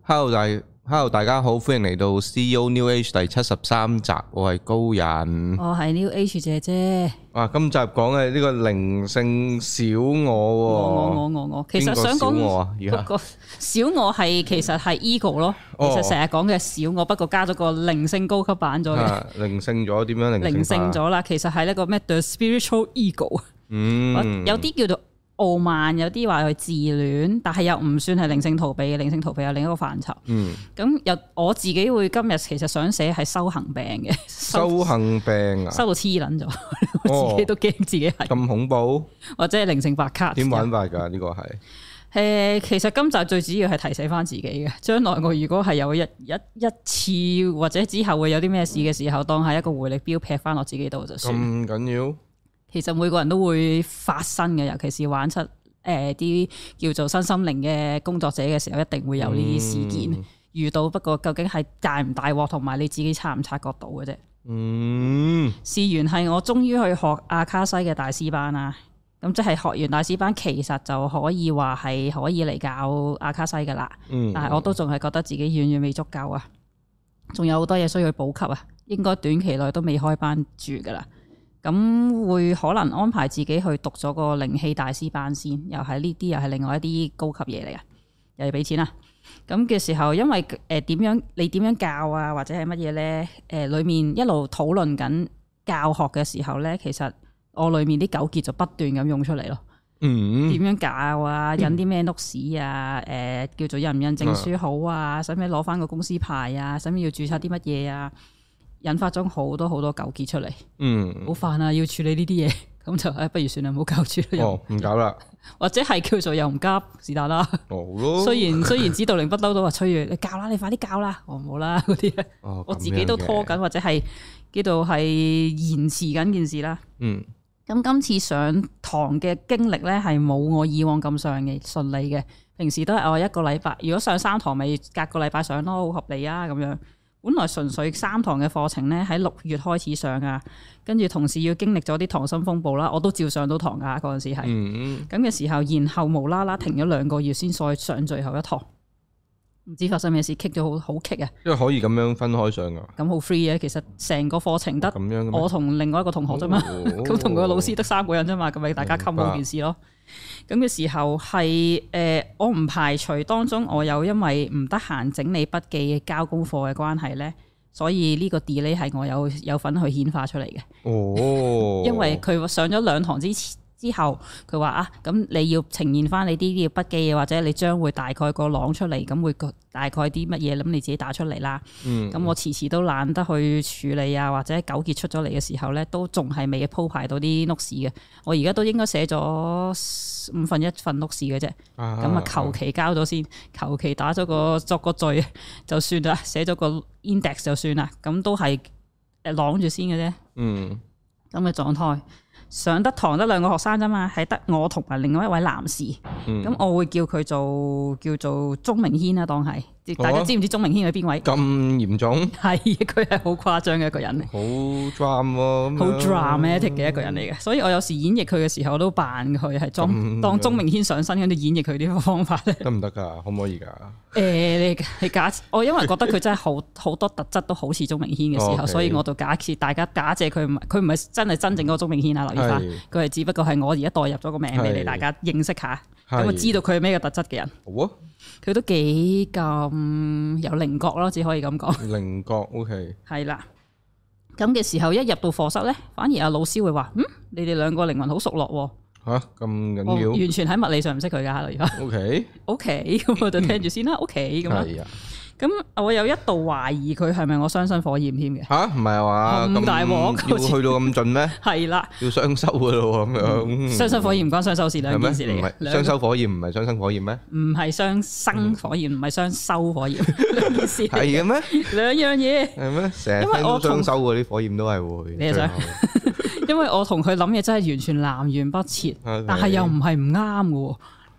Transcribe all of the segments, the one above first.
Hello 大家好，歡迎嚟到 CEO New Age 第73集，我係高人， 我係 New Age 姐姐。 哇，今集講嘅呢個靈性小我， 我，其實想講嗰個小我係其實係 ego 咯，其實成日講嘅小我，不過加咗個靈性高級版咗嘅。 靈性咗點樣靈性咗啦？其實係一個咩 The Spiritual Ego，有啲叫做傲慢，有啲話佢自戀，但係又唔算係靈性逃避嘅。靈性逃避有另一個範疇。咁又我自己會今日其實想寫係修行病嘅。修行病啊？修到黐撚咗，我自己都驚自己係咁恐怖，或者係靈性白卡。 點玩法㗎？呢個係其實今集最主要係提醒翻自己嘅，將來我如果係有一次或者之後會有啲咩事嘅時候，當係一個回力鏢劈翻落自己度就算。咁緊要？其實每個人都會發生嘅，尤其是玩出啲叫做身心靈嘅工作者嘅時候，一定會有呢啲事件遇到。不過究竟係大唔大鑊，同埋你自己察唔察覺到嘅啫。事緣係我終於去學阿卡西嘅大師班啦。咁即係學完大師班，其實就可以話係可以嚟教阿卡西噶啦。但係我都仲係覺得自己遠遠未足夠啊，仲有好多嘢需要去補給啊。應該短期內都未開班住噶啦。咁會可能安排自己去讀咗個靈氣大師班先，又係呢啲又係另外一啲高級嘢嚟嘅，又要俾錢啦。咁嘅時候，因為你點樣教啊，或者係乜嘢咧？裡面一路討論緊教學嘅時候咧，其實我裡面啲糾結就不斷咁湧出嚟咯。點樣教啊？印啲咩 notes 啊？叫做印唔印證書好啊？使唔使攞翻個公司牌啊？使唔使要註冊啲乜嘢啊？引發咗好多糾結出嚟，好煩啊！要處理呢啲嘢，咁就不如算啦，唔好搞住啦，唔搞啦，或者係叫做又唔急，是但啦。雖然指導靈不嬲都話催住你教啦，你快啲教啦，我唔好啦嗰啲咧，我自己都拖緊，或者係叫做係延遲緊件事啦。咁今次上堂嘅經歷咧，係冇我以往咁上嘅順利嘅。平時都係我一個禮拜，如果上3堂咪隔個禮拜上咯，好合理啊咁樣。本來純粹3堂嘅課程咧，喺6月開始上啊，跟住同時要經歷咗啲溏心風暴啦，我都照上到堂噶嗰陣時係，咁嘅時候，然後無啦啦停咗2個月先再上最後一堂，唔知發生咩事，棘咗好棘啊！因為可以咁樣分開上噶，咁好 free 嘅，其實成個課程得我同另外一個同學啫嘛，咁同個老師得3個人啫嘛，咁咪大家 cover 件事咯。咁嘅時候係我唔排除當中我有因為唔得閒整理筆記交功課嘅關係咧，所以呢個 delay 係我有份去顯化出嚟嘅。因為佢上咗2堂之後，佢話啊，咁你要呈現翻你啲筆記，或者你將會大概個朗出嚟，咁會大概啲乜嘢，咁你自己打出嚟啦。咁我遲都懶得去處理啊，或者糾結出咗嚟嘅時候咧，都仲係未鋪排到啲 notes 嘅。我而家都應該寫咗1/5份 notes 嘅啫。咁啊，求其交咗先，求其打咗作個序就算啦，寫咗個 index 就算啦。咁都係朗住先嘅啫。咁嘅狀態。上得堂得2個學生啫嘛，係得我同埋另外一位男士，咁我會叫佢叫做鍾明軒啦，當係大家知唔知鍾明軒係邊位？咁嚴重？係，佢係好誇張嘅一個人嚟，好 dramatic 嘅一個人嚟嘅，所以我有時演繹佢嘅時候，我都扮佢係當鍾明軒上身咁樣演繹佢呢個方法咧，得唔得噶？可唔可以噶？你假我因為覺得佢真係好多特質都好似鍾明軒嘅時候，所以我就假設大家假借佢唔係真係真正嗰個鍾明軒啊，留意翻，佢係只不過係我而家代入咗個名俾你大家認識下，咁啊知道佢係咩嘅特質嘅人。好啊，佢都幾咁有稜角咯，只可以咁講。稜角 OK。係啦，咁嘅時候一入到課室咧，反而阿老師會話：你哋2個靈魂好熟絡喎。吓，咁緊要？完全喺物理上唔識佢噶，而家。OK，咁我就聽住先啦。OK，咁啊。咁我有一度懷疑佢係咪我雙生火焰添嘅？吓，唔係啊嘛，咁大鑊要去到咁盡咩？係啦，要雙修噶咯咁樣。雙生火焰唔關雙修事，兩件事嚟嘅。雙修火焰唔係雙生火焰咩？唔係雙生火焰，唔係雙修火焰，兩件事。係嘅咩？2樣嘢。係咩？成日聽到雙修嗰啲火焰都係會。你想？因為我同佢諗嘢真係完全南轅北轍，但係又唔係唔啱嘅。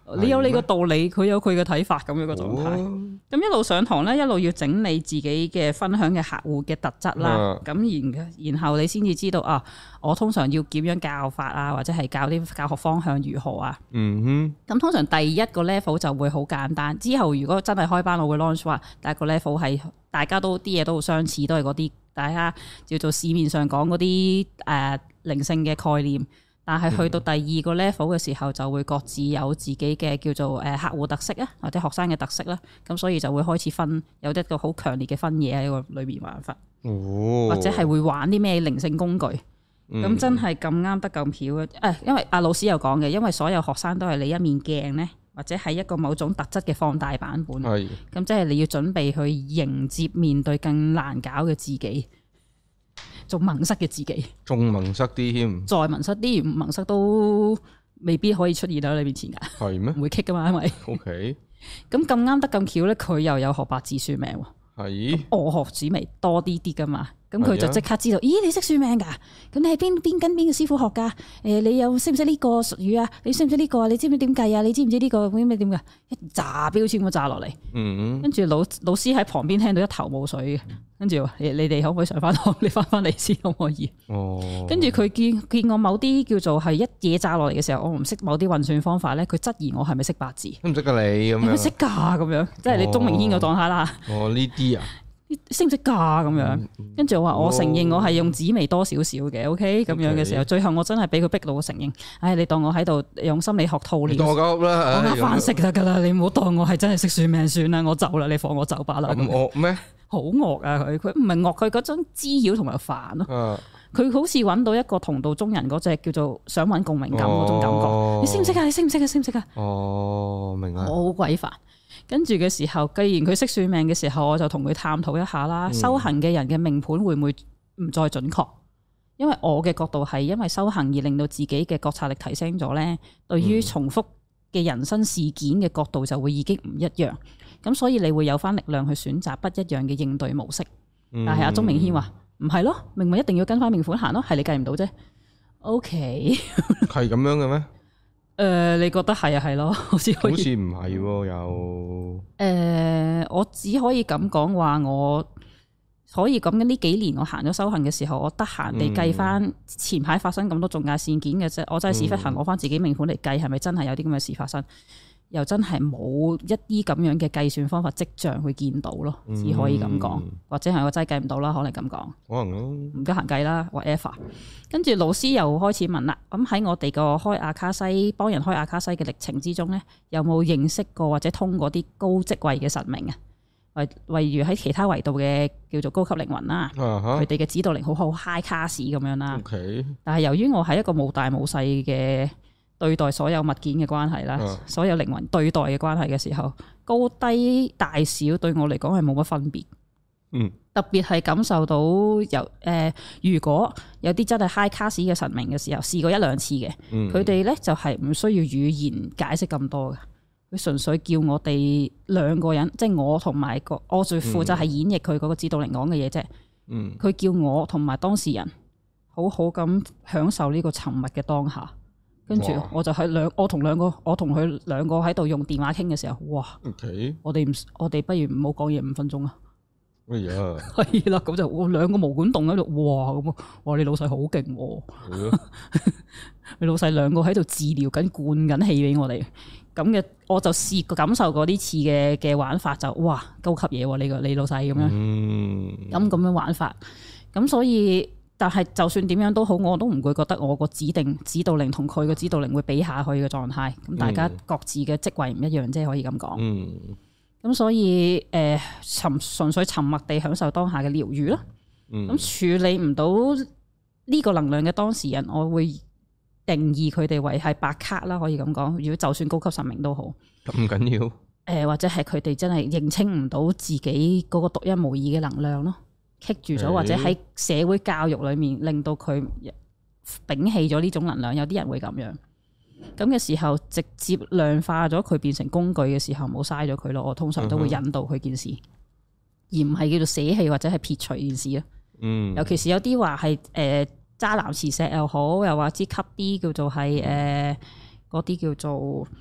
你有你個道理，佢有佢嘅睇法咁樣個狀態。咁一路上堂咧，一路要整理自己嘅分享嘅客戶嘅特質啦。咁然後你先至知道啊，我通常要點樣教法啊，或者係教啲教學方向如何啊。咁通常第一個 level 就會好簡單。之後如果真係開班，我會 launch 話第一個 level 係大家都啲嘢都好相似，都係嗰啲大家叫做市面上講嗰啲靈性嘅概念。但係去到第二個 level 嘅時候，就會各自有自己嘅叫做客戶特色啊，或者學生嘅特色啦。咁所以就會開始分有一個好強烈嘅分野喺個裏面玩法，或者係會玩啲咩靈性工具。咁真係咁啱得咁巧啊！因為阿老師有講嘅，因為所有學生都係你一面鏡咧，或者係一個某種特質嘅放大版本。咁即係你要準備去迎接面對更難搞嘅自己。仲矇塞嘅自己， 仲矇塞啲添，再矇塞啲，唔矇塞都未必可以出現喺你面前噶。係咩？唔會棘噶嘛，因為 OK。咁啱得咁巧咧，佢又有學八字算命喎。係。我學紫微多啲噶嘛，咁佢就即刻知道，咦？你識算命噶？咁你係邊跟邊個師傅學噶？你又識唔識呢個術語啊？你識唔識呢個啊？你知唔知點計啊？你知唔知呢個咩點噶？一炸標籤咁炸落嚟，跟住老師喺旁邊聽到一頭霧水嘅。跟住你哋可唔可以上翻堂？你翻嚟先可唔可以？跟住佢見我某啲叫做係一嘢炸落嚟嘅時候，我唔識某啲運算方法咧，佢質疑我係咪識八字？ 唔識噶你咁樣？ 識噶咁樣，即係你鍾明軒個狀態啦。 呢啲啊， 識唔識噶咁樣？跟住我話我承認我係用紫微多少少嘅，OK 咁樣嘅時候，最後我真係俾佢逼到我承認。唉，你當我喺度用心理學套練， 當我鳩啦， 我飯食得噶啦，你唔好當我係真係識算命算啦，我走啦，你放我走吧啦。 咁惡咩？好惡啊！佢唔係惡，佢嗰種滋擾同埋煩咯。佢好似揾到一個同道中人嗰隻叫做想揾共鳴感嗰種感覺。你識唔識啊？你識唔識啊？識唔識啊？ 明啊！ 好鬼煩。跟住嘅時候，既然佢識算命嘅時候，我就同佢探討一下啦。修行嘅人嘅命盤會唔會唔再準確？因為我嘅角度係因為修行而令到自己嘅覺察力提升咗咧，對於重複嘅人生事件嘅角度就會已經唔一樣。咁所以你會有翻力量去選擇不一樣嘅應對模式，但係阿鍾明軒話唔係咯，明明一定要跟翻命盤行咯，係你計唔到啫。OK， 係咁樣嘅咩？ 你覺得係啊係咯，好似唔係又我只可以咁講話，我可以咁嘅呢幾年我行咗修行嘅時候，我得閒地計翻前排發生咁多重大事件嘅啫，我真係屎忽痕攞翻自己命盤嚟計，係咪真係有啲咁嘅事發生？又真係冇一啲咁樣嘅計算方法跡象去見到咯，只可以咁講，或者係我真係計唔到啦，可能咁講， 可能咯， 唔得閒計啦，whatever。跟住老師又開始問啦，咁喺我哋個開阿卡西幫人開阿卡西嘅歷程之中咧，有冇認識過或者通過啲高職位嘅神明啊？例如喺其他維度嘅叫做高級靈魂啦，佢哋嘅指導靈好 high class 咁樣啦。Okay. 但係由於我係一個冇大冇細嘅對待所有物件嘅關係啦，所有靈魂對待嘅關係嘅時候，高低大小對我嚟講係冇乜分別。特別係感受到如果有啲真係 high class 嘅神明嘅時候，試過一兩次嘅，佢哋咧就係唔需要語言解釋咁多嘅，佢純粹叫我哋兩個人，即係我同埋我最負責係演繹佢嗰個指導靈講嘅嘢啫。佢叫我同埋當事人好好咁享受呢個沉默嘅當下。跟住我就喺我同佢兩個喺度用電話傾嘅時候，哇！ Okay. 我哋不如唔好講嘢5分鐘啊！哎呀，係啦，咁就我兩個毛管戙喺度，哇！咁哇，你老細好勁喎！你老細兩個喺度治療緊，灌緊氣俾我哋，咁嘅我就試過感受過呢次嘅玩法就哇高級嘢喎！你老細咁樣，咁樣玩法，咁所以。但係就算點樣都好，我都唔會覺得我個指導靈同佢個指導靈會比下去嘅狀態。咁大家各自嘅職位唔一樣，即係可以咁講。咁所以純粹沉默地享受當下嘅療癒咯。咁處理唔到呢個能量嘅當事人，我會定義佢哋為係白卡啦，可以咁講。如果就算高級神明都好， 咁緊要。 或者係佢哋真係認清唔到自己嗰個獨一無二嘅能量咯。棘住咗，或者喺社會教育裏面令到佢摒棄咗呢種能量，有啲人會咁樣。咁嘅時候，直接量化咗佢變成工具嘅時候，冇嘥咗佢咯。我通常都會引導佢件事，而唔係叫做捨棄或者係撇除件事咯。尤其是有啲話係渣男磁石又好，又或者吸啲叫做係嗰啲叫做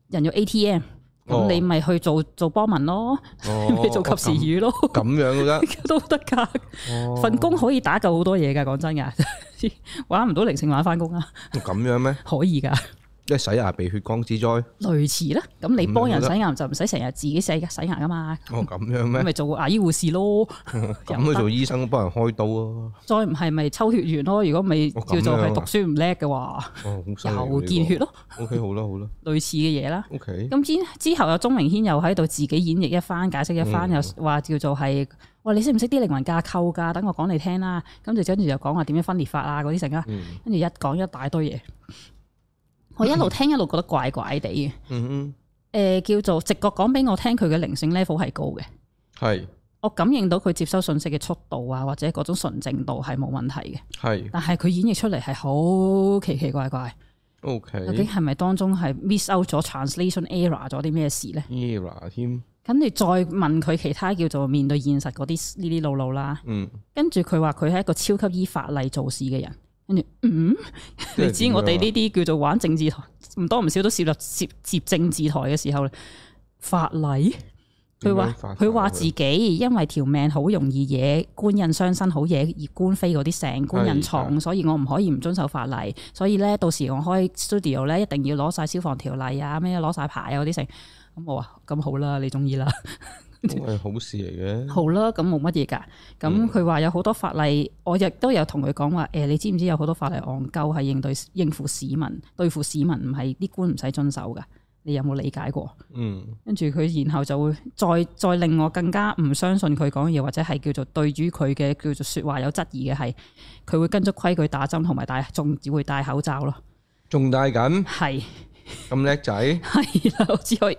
人肉 ATM。咁你咪去做幫民咯，你做及時雨咯， 咁樣都得， 都得噶。份工可以打救好多嘢噶，講真噶，玩唔到靈性玩翻工啊。 咁樣咩？ 可以噶， 即係洗牙避血光之災，類似啦。咁你幫人洗牙就唔使成日自己洗牙噶嘛。 咁樣咩？ 咪做牙醫護士咯。 咁去做醫生幫人開刀啊？再唔係咪抽血員咯？如果未叫做係讀書唔叻嘅話，又見血咯。 OK， 好啦好啦， 類似嘅嘢啦。 OK， 咁之後有鐘明軒又喺度自己演繹一番，解釋一番，又話叫做係，喂，你識唔識啲靈魂架構噶？等我講你聽啦。跟住又講話點樣分裂法啊嗰啲成啊，跟住一講一大堆嘢。我一路聽一路覺得怪怪地嘅，叫做直覺講俾我聽，佢嘅靈性 level 係高嘅，係我感應到佢接收信息嘅速度啊，或者嗰種純正度係冇問題嘅，係，但係佢演繹出嚟係好奇奇怪怪，OK，究竟係咪當中係 miss out 咗 translation error 咗啲咩事咧 ？error 添，跟住再問佢其他叫做面對現實嗰啲呢啲路啦，跟住佢話佢係一個超級依法例做事嘅人。跟住，你知我哋呢啲叫做玩政治台，唔多唔少都涉接政治台嘅時候，法例，佢話自己因為條命好容易惹官印傷身，好惹官非嗰啲成官印重，所以我唔可以唔遵守法例。所以咧，到時我開 studio 咧，一定要攞晒消防條例啊，咩攞晒牌啊嗰啲成。咁我話咁好啦，你中意啦。係好事嚟嘅，好啦，咁冇乜嘢噶。咁佢話有好多法例，我亦都有同佢講話，你知唔知有好多法例戇鳩係應付市民，對付市民唔係啲官唔使遵守噶？你有冇理解過？跟住佢然後就會再令我更加唔相信佢講嘢，或者係叫做對於佢嘅叫做說話有質疑嘅係，佢會跟足規矩打針，同埋仲只會戴口罩咯。仲戴緊？係咁叻仔？係啦，我只可以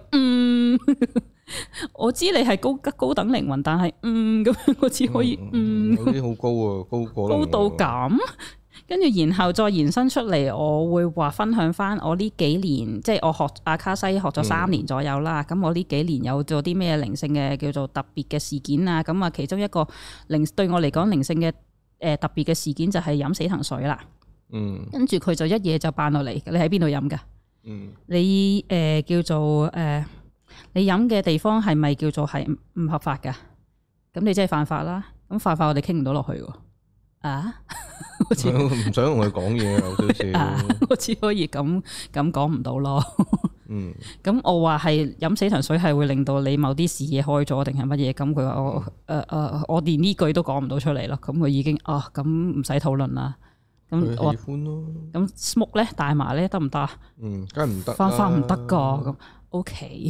我知你係高等靈魂，但係咁樣我只可以有啲好高啊，高到咁，跟住然後再延伸出嚟，我會話分享翻我呢幾年，即係我學阿卡西學咗3年左右啦。咁我呢幾年有做啲咩靈性嘅叫做特別嘅事件啊？咁啊，其中一個對我嚟講靈性嘅特別嘅事件就係飲死藤水啦。跟住佢就一夜就扮落嚟，你喺邊度飲噶？你叫做你飲嘅地方係咪叫做係唔合法噶？咁你真係犯法啦！咁犯法我哋傾唔到落去喎。唔想同佢講嘢有少少。我只可以咁講唔到咯。咁我話係飲死藤水係會令到你某啲視野開咗定係乜嘢？咁佢話我連呢句都講唔到出嚟咯。咁佢已經咁唔使討論啦。咁我喜歡咯。咁 smoke 咧，大麻咧得唔得？梗係唔得。犯法唔得噶咁。OK，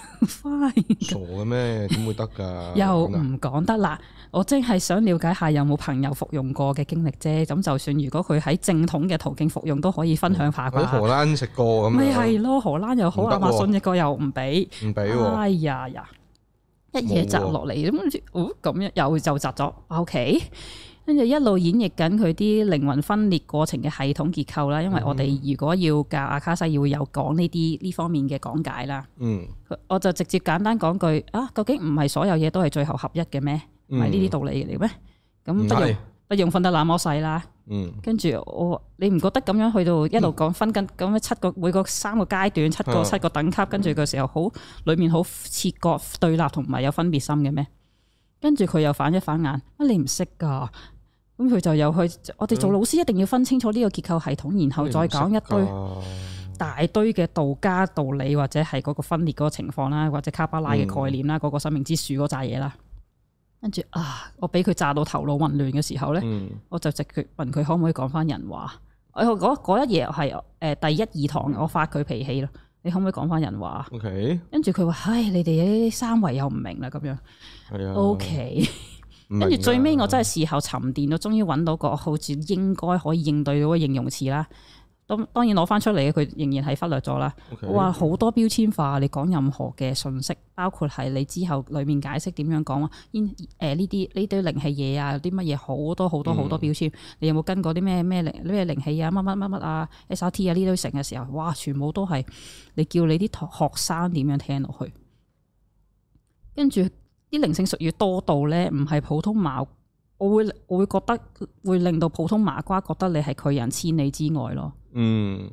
fine。傻嘅咩？點會得噶？又唔講得啦。我真係想了解下有冇朋友服用過嘅經歷啫。咁就算如果佢喺正統嘅途徑服用，都可以分享下啩。喺荷蘭食過咁。咪係咯，荷蘭又好，亞馬遜一個又唔俾。唔俾喎。哎呀，一嘢砸落嚟咁，咁樣又就砸咗。OK。跟住一路演繹緊佢啲靈魂分裂過程嘅系統結構啦，因為我哋如果要教阿卡西，要有講呢方面嘅講解啦。我就直接簡單講句究竟唔係所有嘢都係最後合一嘅咩？唔係呢啲道理嚟咩？咁不用分得那麼細啦。跟住你唔覺得咁樣去到一路講分緊咁樣7個每個3個階段7個等級，跟住嘅時候好裏面好切割對立同埋有分別心嘅咩？跟住佢又反一反眼，你唔識噶？咁佢就又去，我哋做老師一定要分清楚呢個結構系統，然後再講一堆大堆嘅道家道理，或者係嗰個分裂嗰個情況啦，或者卡巴拉嘅概念啦，嗰個生命之樹嗰扎嘢啦。跟住我俾佢炸到頭腦混亂嘅時候咧，我就直接問佢可唔可以講翻人話。嗰一夜係第1、2堂，我發佢脾氣咯。你可唔可以講翻人話 ？OK。跟住佢話：唉，你哋啲三維又唔明啦，咁樣。係啊。OK。跟住最尾我真係事後沉澱到，終於揾到個好似應該可以應對到嘅形容詞啦。當然攞翻出嚟嘅，佢仍然係忽略咗啦。我話好多標籤化，你講任何嘅信息，包括係你之後裡面解釋點樣講呢啲靈氣嘢啊，啲乜嘢好多好多好多標籤。你有冇跟過啲咩靈氣啊？乜啊 SRT 啊呢堆成嘅時候，哇！全部都係你叫你啲學生點樣聽落去，跟住。啲靈性術語多到咧，唔係普通麻，我會覺得會令到普通麻瓜覺得你係拒人千里之外咯。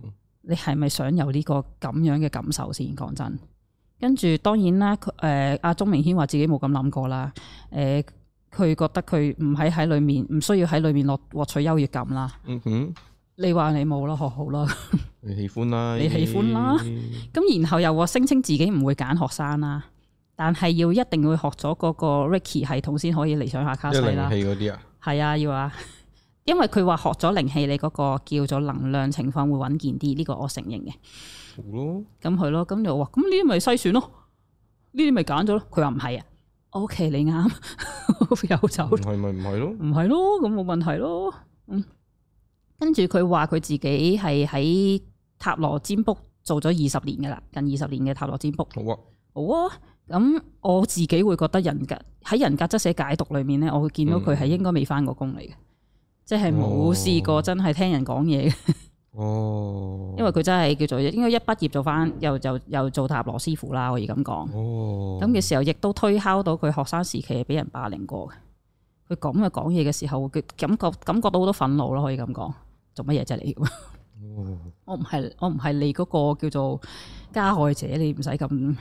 你係咪想有呢個咁樣嘅感受先？講真，跟住當然啦，阿鍾明軒話自己冇咁諗過啦。佢覺得佢唔喺裏面，唔需要喺裏面獲取優越感啦。嗯哼，你話你冇啦，學好啦。 你喜歡啦， 你喜歡啦。咁然後又話聲稱自己唔會揀學生啦，但係要一定要學咗嗰個 Reiki 系統先可以嚟上下卡西啦。 靈氣嗰啲啊？係啊，要啊。因為佢話學咗靈氣，你嗰個叫做能量情況會穩健啲，呢個我承認嘅。好咯。咁係咯，咁就話咁呢啲咪篩選咯，呢啲咪揀咗咯。佢話唔係啊。O.K. 你啱，有走。唔係咪唔係咯？唔係咯，咁冇問題咯。跟住佢話佢自己係喺塔羅占卜做咗20年噶啦，近20年嘅塔羅占卜。好啊，好啊。咁我自己會覺得人格質寫解讀裏面咧，我會見到佢係應該未翻過工嚟嘅，即係冇試過真係聽人講嘢嘅。哦，因為佢真係叫做應該一畢業做翻，又做塔羅師傅啦，可以咁講。哦，咁嘅時候亦都推敲到佢學生時期係俾人霸凌過嘅。佢咁嘅講嘢嘅時候，佢感覺到好多憤怒咯，可以咁講。做乜嘢啫你？哦，我唔係你嗰個叫做加害者，你唔使咁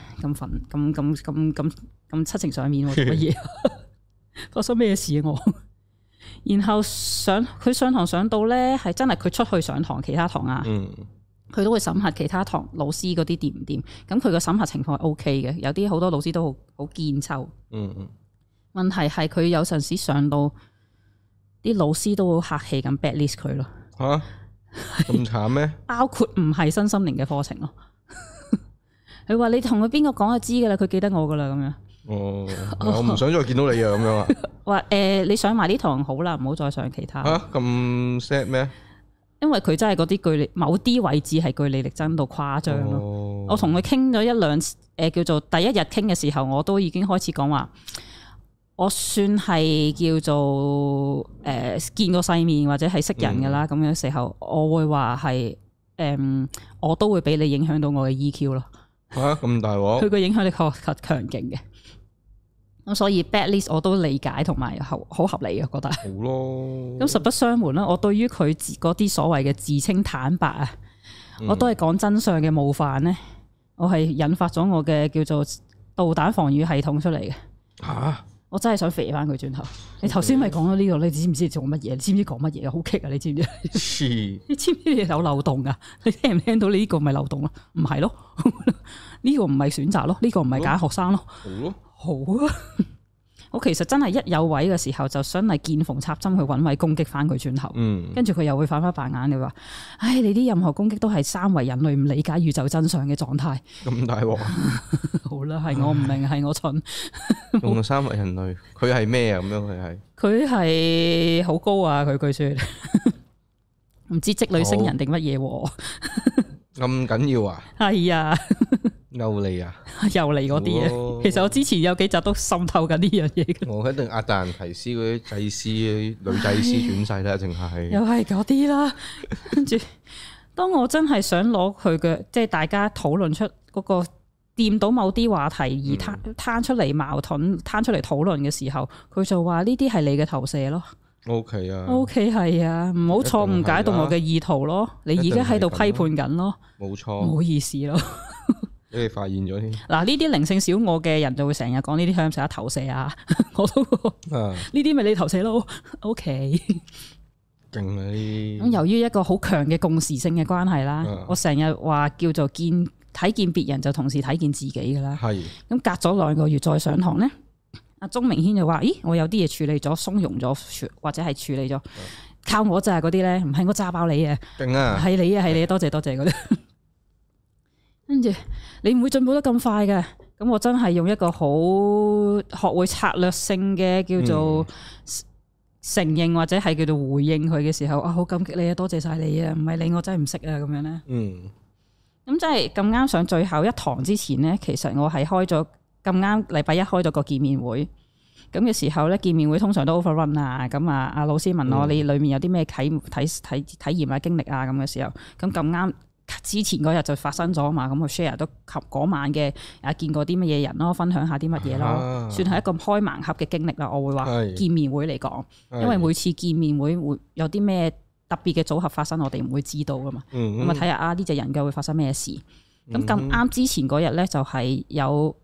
七情上面做乜嘢？發生咩事啊我？然後佢上堂上到咧，係真係佢出去上堂，其他堂啊，佢都會審核其他堂老師嗰啲掂唔掂。咁佢個審核情況係 OK 嘅，有啲好多老師都好堅抽。問題係佢有陣時上到啲老師都好客氣咁 bad list 佢咯。吓，咁慘咩？包括唔係身心靈嘅課程咯。佢話你同佢邊個講就知噶啦，佢記得我噶啦咁樣。哦，我唔想再見到你啊，咁樣啊？話你上埋呢堂好啦，唔好再上其他。吓，咁 sad 咩？因為佢真係嗰啲據理，某啲位置係據理力爭到誇張咯。哦、我同佢傾咗一兩次，叫做第一日傾嘅時候，我都已經開始講話，我算係叫做見過世面或者係識人噶啦。咁樣時候，我會話係我都會俾你影響到我嘅 EQ 咯。吓，咁大鑊！佢個影響力確實強勁嘅。咁所以 bad list 我都理解同埋好合理嘅，覺得。好咯。咁實不相瞞啦，我對於佢嗰啲所謂嘅自稱坦白啊，我都係講真相嘅冒犯咧，我係引發咗我嘅叫做導彈防禦系統出嚟嘅。吓！我真係想肥翻佢轉頭。你頭先咪講咗呢個，你知唔知做乜嘢？你知唔知講乜嘢？好棘啊！你知唔知？你知唔知你有漏洞啊？你聽唔聽到？你呢個咪漏洞咯？唔係咯？呢個唔係選擇咯？呢個唔係揀學生咯？好咯。好啊！我其實真係一有位嘅時候，就想係見縫插針去揾位攻擊翻佢轉頭。跟住佢又會反翻白眼，你話：唉，你啲任何攻擊都係三維人類唔理解宇宙真相嘅狀態。咁大鑊！好啦，係我唔明，係我蠢。用三維人類，佢係咩啊？咁樣佢係好高啊！佢據說唔知積女星人定乜嘢？咁緊要啊？係啊。又嚟啊！又嚟嗰啲嘢，其實我之前有幾集都滲透緊呢樣嘢嘅。我一定亞特蘭提斯嗰啲祭司、女祭司轉世啦，淨係又係嗰啲啦。跟住，當我真係想攞佢嘅，即係大家討論出嗰個掂到某啲話題而攤出嚟矛盾、攤出嚟討論嘅時候，佢就話呢啲係你嘅投射咯。OK 啊，OK 係啊，唔好錯誤解讀我嘅意圖咯。你而家喺度批判緊咯，冇錯，唔好意思咯。俾你發現咗添。嗱，呢啲靈性小我嘅人就會成日講呢啲向上投射啊，我都呢啲咪你投射咯。OK，勁啊！咁由於一個好強嘅共時性嘅關係啦，我成日話叫做睇見別人就同時睇見自己噶啦。係。咁隔咗2個月再上堂咧，阿鍾明軒就話：咦，我有啲嘢處理咗，鬆容咗，或者係處理咗，靠我咋嗰啲咧？唔係我炸爆你啊！勁啊！係你啊！係你，多謝嗰啲。跟住你唔會進步得咁快嘅，咁我真係用一個好學會策略性嘅叫做承認或者係叫做回應佢嘅時候，啊，好感激你啊，多謝晒你啊，唔係你我真係唔識啊咁樣咧。咁真係咁啱上最後一堂之前咧，其實我係開咗咁啱禮拜一開咗個見面會，咁嘅時候咧，見面會通常都 overrun 啊，咁啊阿老師問我你裏面有啲咩體驗啊經歷啊咁嘅時候，咁啱。之前嗰日就發生咗嘛，咁我 share 都及嗰晚嘅見過啲乜嘢人咯，分享下啲乜嘢咯，算係一個開盲盒嘅經歷啦。我會話見面會嚟講，因為每次見面會有啲咩特特別嘅組合發生，我哋唔會知道噶嘛。咁啊睇下呢隻人嘅會發生咩事。咁咁啱之前嗰日咧就係有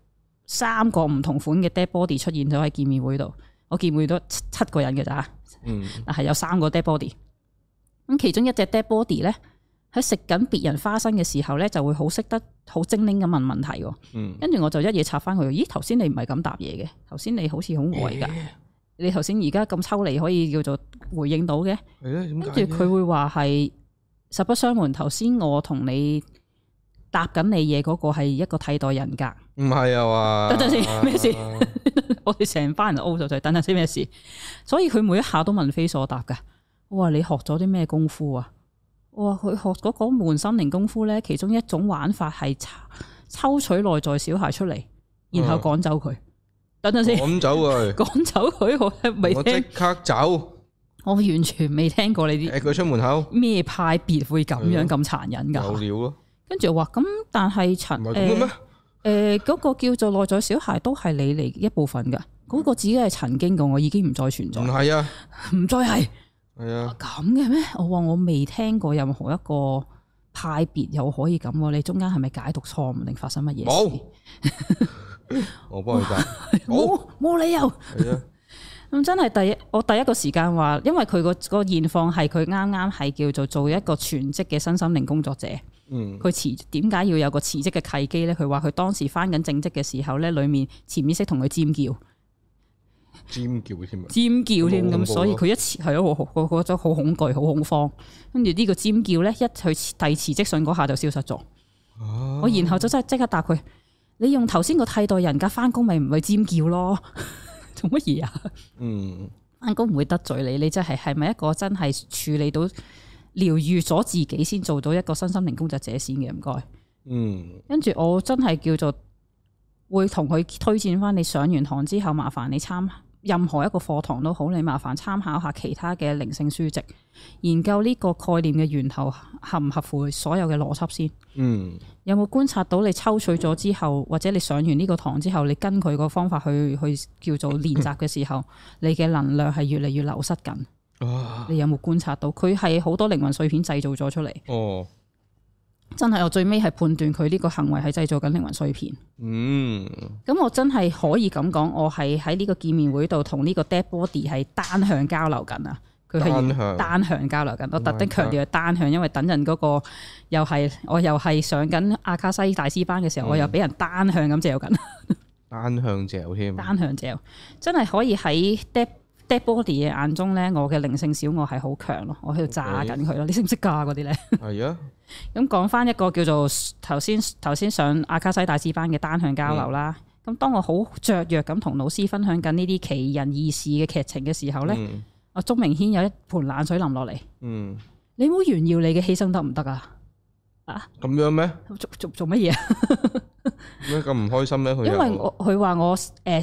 3個唔同款嘅 dead body 出現咗喺見面會度。我見會到7個人嘅咋，但係有3個 dead body。咁其中一隻 dead body 咧，喺食緊別人花生嘅時候咧，就會好識得好精靈咁問問題。跟住我就一嘢插翻佢。咦，頭先你唔係咁答嘢嘅，頭先你好似好呆噶。你頭先而家咁抽離，可以叫做回應到嘅。跟住佢會話係實不相瞞，頭先我同你答緊你嘢嗰個係一個替代人格。唔係啊嘛？等陣先，咩事？我哋成班人 O 咗嘴，等陣先咩事？所以佢每一下都問非所答噶。我話你學咗啲咩功夫啊？我話佢學嗰門心靈功夫咧，其中一種玩法係抽取內在小孩出嚟，然後趕走佢。等陣先，趕走佢，趕走佢，我未聽。我即刻走。我完全未聽過你啲。佢出門口。咩派別會咁樣咁殘忍噶？有料咯。跟住我話咁，但係嗰個叫做內在小孩都係你嚟一部分噶，嗰個只係曾經嘅，我已經唔再存在。唔係啊，唔再係。係啊。咁嘅咩？我話我未聽過任何一個派別又可以咁，你中間係咪解讀錯誤定發生乜嘢事？冇。我幫你答。冇理由。係啊。咁真係我第一個時間話，因為佢個現況係佢啱啱係叫做一個全職嘅身心靈工作者。佢點解要有個辭職嘅契機咧？佢話佢當時返緊正職嘅時候咧，裏面潛意識同佢尖叫添，尖叫添咁，所以佢一辭係咯，我覺得好恐懼、好恐慌。跟住呢個尖叫咧，一去遞辭職信嗰下就消失咗。我然後就真係即刻答佢：你用頭先個替代人格返工，咪唔會尖叫咯？做乜嘢啊？返工唔會得罪你，你真係咪一個真係處理到？療癒咗自己先做到一個身心靈工作者先嘅，唔該。跟住我真係叫做會同佢推薦翻，你上完堂之後，麻煩你任何一個課堂都好，你麻煩參考下其他嘅靈性書籍，研究呢個概念嘅源頭合唔合乎所有嘅邏輯先。有冇觀察到你抽取咗之後，或者你上完呢個堂之後，你跟佢個方法去叫做練習嘅時候，你嘅能量係越嚟越流失緊。你有冇觀察到佢係好多靈魂碎片製造咗出嚟？真係我最尾係判斷佢呢個行為係製造緊靈魂碎片。咁我真係可以咁講，我係喺呢個見面會度同呢個 dead body 係單向交流緊啊！佢係單向交流緊，我特登強調係單向，因為等陣嗰個我又係上緊阿卡西大師班嘅時候，我又俾人單向咁嚼緊。單向嚼添。單向嚼，真係可以喺 dead body 嘅眼中咧，我嘅靈性小我係好強咯，我喺度炸緊佢咯。你識唔識㗎嗰啲咧？係啊。咁講翻一個叫做頭先上阿卡西大師班嘅單向交流啦。咁當我好雀躍咁同老師分享緊呢啲奇人異事嘅劇情嘅時候咧，阿鍾明軒有一盆冷水淋落嚟。你唔好炫耀你嘅犧牲得唔得啊？啊？咁樣咩？做乜嘢啊？咩咁唔開心咧？佢因為佢話我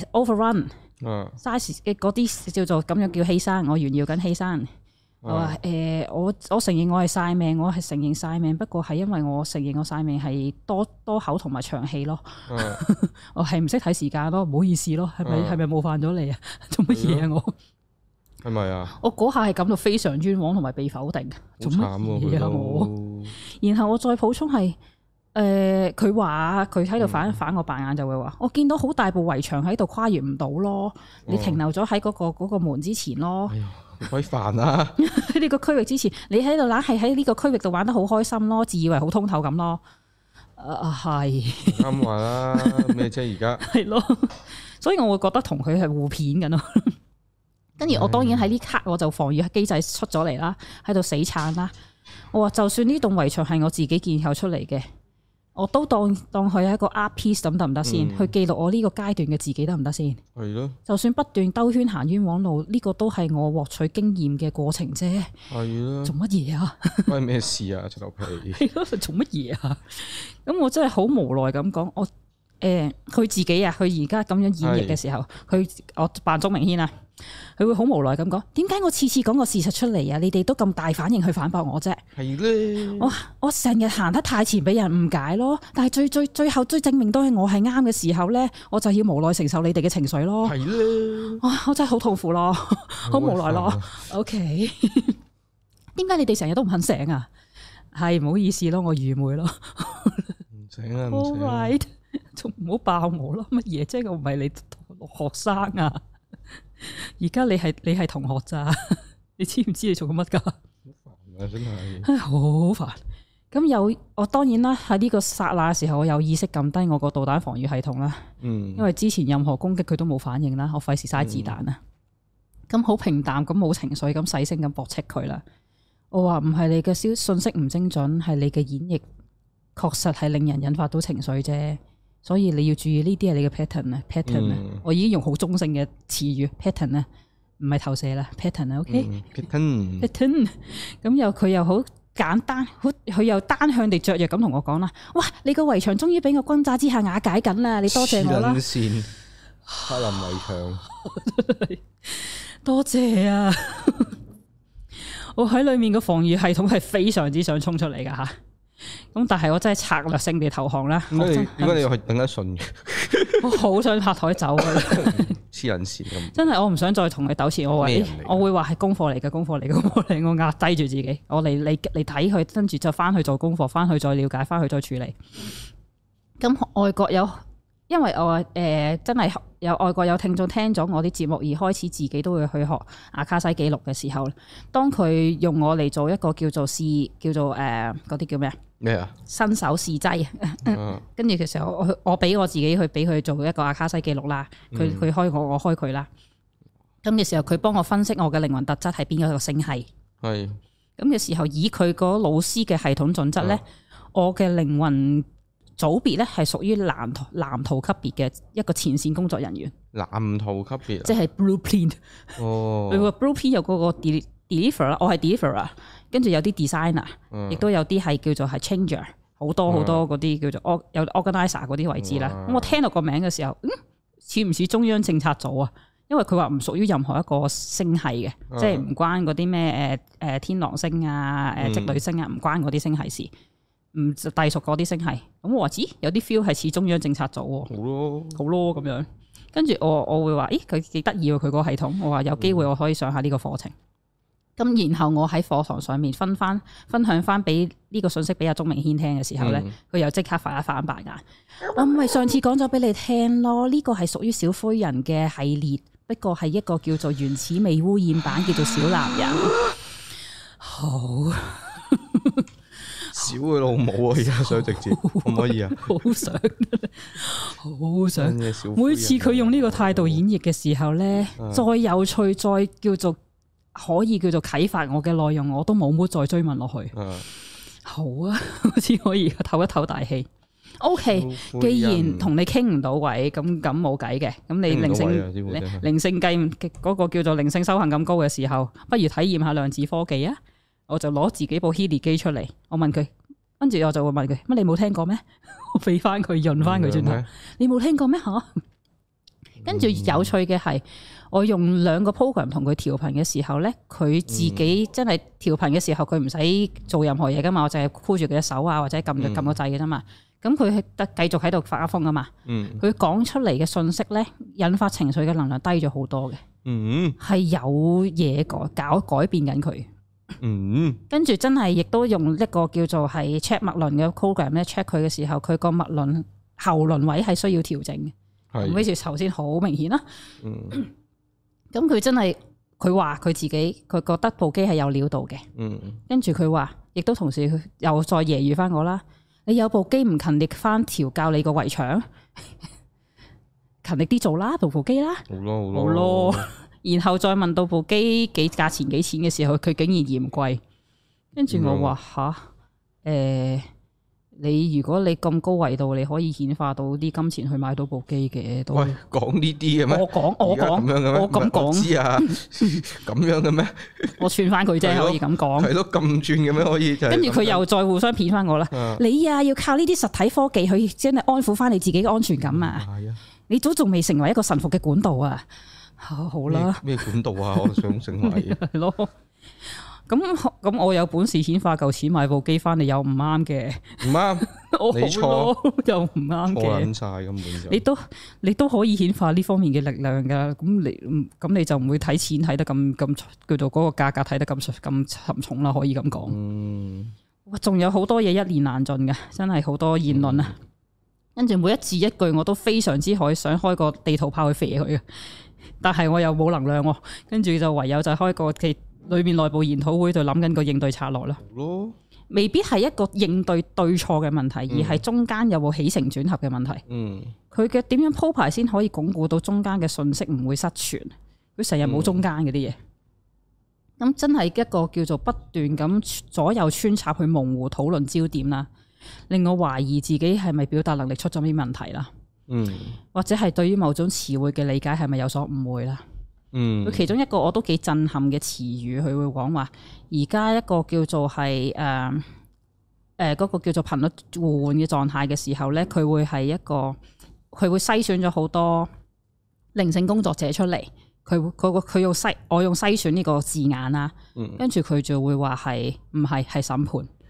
overrun。size 嘅嗰啲叫做咁樣叫犧牲，我炫耀緊犧牲。我話我承認我係晒命，我係承認晒命，不過係因為我承認我晒命係多口同埋長氣咯。我係唔識睇時間咯，唔好意思咯，係咪冒犯咗你啊？做乜嘢啊？我係咪啊？我嗰下係感到非常冤枉同埋被否定。做乜嘢啊？我然後我再補充係。佢話佢喺度反我白眼，就會話我見到好大部圍牆喺度跨越唔到咯，你停留咗喺嗰個門之前咯。好鬼煩啊！喺呢個區域之前，你喺度懶係喺呢個區域度玩得好開心咯，自以為好通透咁咯。係啱話啦，咩啫而家？係咯，所以我會覺得同佢係互片緊咯。跟住我當然喺呢刻我就防禦機制出咗嚟啦，喺度死撐啦。我話就算呢棟圍牆係我自己建構出嚟嘅。我都當佢係一個 art piece 咁得唔得先？去記錄我呢個階段嘅自己得唔得先？係咯。就算不斷兜圈行冤枉路，呢個都係我獲取經驗嘅過程啫。係咯。做乜嘢啊？關咩事啊？出頭皮。係咯，做乜嘢啊？咁我真係好無奈咁講，佢自己啊，佢而家咁樣演繹嘅時候，我扮鍾明軒啊。佢會好無奈咁講，點解我次次講個事實出嚟啊？你哋都咁大反應去反駁我啫？係咧，我成日行得太前俾人誤解咯。但係最後證明都係我係啱嘅時候咧，我就要無奈承受你哋嘅情緒咯。係咧，我真係好痛苦咯，好無奈咯。OK， 點解你哋成日都唔肯醒啊？係唔好意思咯，我愚昧咯。 唔醒啊，唔醒。 All right，仲唔好爆我咯？乜嘢？即係我唔係你學生啊！而家你係同學咋？你知唔知你做緊乜㗎？好煩啊！真係。 好煩。咁我當然啦，喺呢個剎那嘅時候，我有意識撳低我個導彈防禦系統啦。因為之前任何攻擊佢都冇反應啦，我費事嘥子彈啦。咁好平淡，咁冇情緒，咁細聲咁駁斥佢啦。我話唔係你嘅信息唔精準，係你嘅演繹確實係令人引發到情緒啫。所以你要注意呢啲係你嘅 pattern 啊，pattern 啊。我已經用好中性嘅詞語 pattern 啊，唔係投射啦 pattern 啊，OK？pattern。咁佢又好簡單，佢又單向地雀躍咁同我講啦。哇！你個圍牆終於俾我轟炸之下瓦解緊啦，你多謝我啦。 線柏林圍牆， 多謝啊！我喺裏面個防禦系統係非常之想衝出嚟噶吓，咁但係我真係策略性地投降啦。點解你又係頂得順嘅？ 我好想拍台走啊！ 黐人線咁， 真係我唔想再同佢糾纏。我會話係功課嚟嘅，功課嚟，我壓低住自己，我嚟睇佢，跟住就翻去做功課，翻去再了解，翻去再處理。咁外國因為我真係有外國有聽眾聽咗我啲節目而開始自己都會去學阿卡西記錄嘅時候，當佢用我嚟做一個叫做嗰啲叫咩啊？ 咩啊？ 新手試劑，跟住嘅時候我俾我自己去俾佢做一個阿卡西記錄啦。佢開我開佢啦。咁嘅時候佢幫我分析我嘅靈魂特質係邊一個星系。係。咁嘅時候以佢個老師嘅系統準則咧，我嘅靈魂組別咧係屬於藍圖級別嘅一個前線工作人員。藍圖級別，即係 blueprint。哦，佢個 blueprint 有嗰個 deliver 啦，我係 deliver， 跟住有啲 designer，亦都有啲係叫做係 changer，好多嗰啲叫做有 organizer 嗰啲位置啦。咁我聽到個名嘅時候，似唔似中央政策組啊？因為佢話唔屬於任何一個星系嘅，即係唔關嗰啲咩天狼星啊、織女星啊，唔關嗰啲星系事。唔隸屬嗰啲星系，咁我話知有啲 feel 係似中央政策組喎，好咯咁樣。跟住我會話，咦佢幾得意喎佢個系統，我話有機會我可以上下呢個課程。咁然後我喺課堂上面分享翻俾呢個信息俾阿鍾明軒聽嘅時候咧，佢又即刻發一反白眼。我唔係上次講咗俾你聽咯，呢個係屬於小灰人嘅系列，不過係一個叫做原始未污染版，叫做小男人。好。 小佢老母啊！而家想直接可唔可以啊？ 好想，每次佢用呢個態度演繹嘅時候咧，再有趣，再叫做可以叫做啟發我嘅內容，我都冇乜再追問落去。好啊，好似可以唞一唞大氣。OK， 既然同你傾唔到位，咁冇計嘅。咁你靈性計嗰個叫做靈性修行咁高嘅時候，不如體驗下量子科技啊！我就攞自己部 Healy 機出嚟，我問佢，跟住我就會問佢，乜你冇聽過咩？我俾翻佢潤翻佢轉頭，你冇聽過咩吓？跟住有趣嘅係，我用2個 program 同佢調頻嘅時候咧，佢自己真係調頻嘅時候，佢唔使做任何嘢噶嘛，我淨係箍住佢隻手啊，或者撳個掣嘅啫嘛。咁佢係得繼續喺度發瘋噶嘛。佢講出嚟嘅信息咧，引發情緒嘅能量低咗好多嘅。係有嘢改變緊佢。跟住真係亦都用一個叫做係 check 脈輪嘅 program 咧 check 佢嘅時候，佢個脈輪喉輪位係需要調整嘅。咁好似頭先好明顯啦。咁佢真係佢話佢自己佢覺得部機係有料到嘅。跟住佢話，亦都同時又再揶揄翻我啦。你有部機唔勤力翻調教你個圍牆，勤力啲做啦，部機啦。好咯。然後再問到部機價錢幾錢嘅時候，佢竟然嫌貴。跟住我話你如果你咁高維度，你可以顯化到啲金錢去買到部機嘅。喂，講呢啲嘅咩？我咁講。知啊，咁樣嘅咩？我串翻佢啫，可以咁講。係咯，咁轉嘅咩？可以。跟住佢又再互相騙翻我啦。你啊，要靠呢啲實體科技去真係安撫翻你自己嘅安全感啊！你都仲未成為一個臣服嘅管道啊！好啦，咩管道啊？我想成為係咯。 咁我有本事顯化夠錢買部機翻嚟又唔啱嘅，唔啱，你錯又唔啱嘅，錯撚晒根本就你都可以顯化呢方面嘅力量噶，咁你就唔會睇錢睇得咁叫做嗰個價格睇得咁沉重啦，可以咁講。仲有好多嘢一言難盡嘅，真係好多言論啊！跟住每一字一句我都非常之想開個地圖炮去射佢嘅，但係我又冇能量，跟住就唯有就開個裏面內部研討會，就諗緊個應對策略啦。未必係一個應對對錯嘅問題，而係中間有冇起承轉合嘅問題。佢嘅點樣鋪排先可以鞏固到中間嘅信息唔會失傳？佢成日冇中間嗰啲嘢，咁真係一個叫做不斷咁左右穿插去模糊討論焦點啦，令我懷疑自己係咪表達能力出咗啲問題啦。或者係對於某種詞彙嘅理解係咪有所誤會啦？佢其中一個我都幾震撼嘅詞語，佢會講話而家一個叫做係嗰個叫做頻率互換嘅狀態嘅時候咧，佢會篩選咗好多靈性工作者出嚟，佢用我用篩選呢個字眼啦，跟住佢就會話係唔係審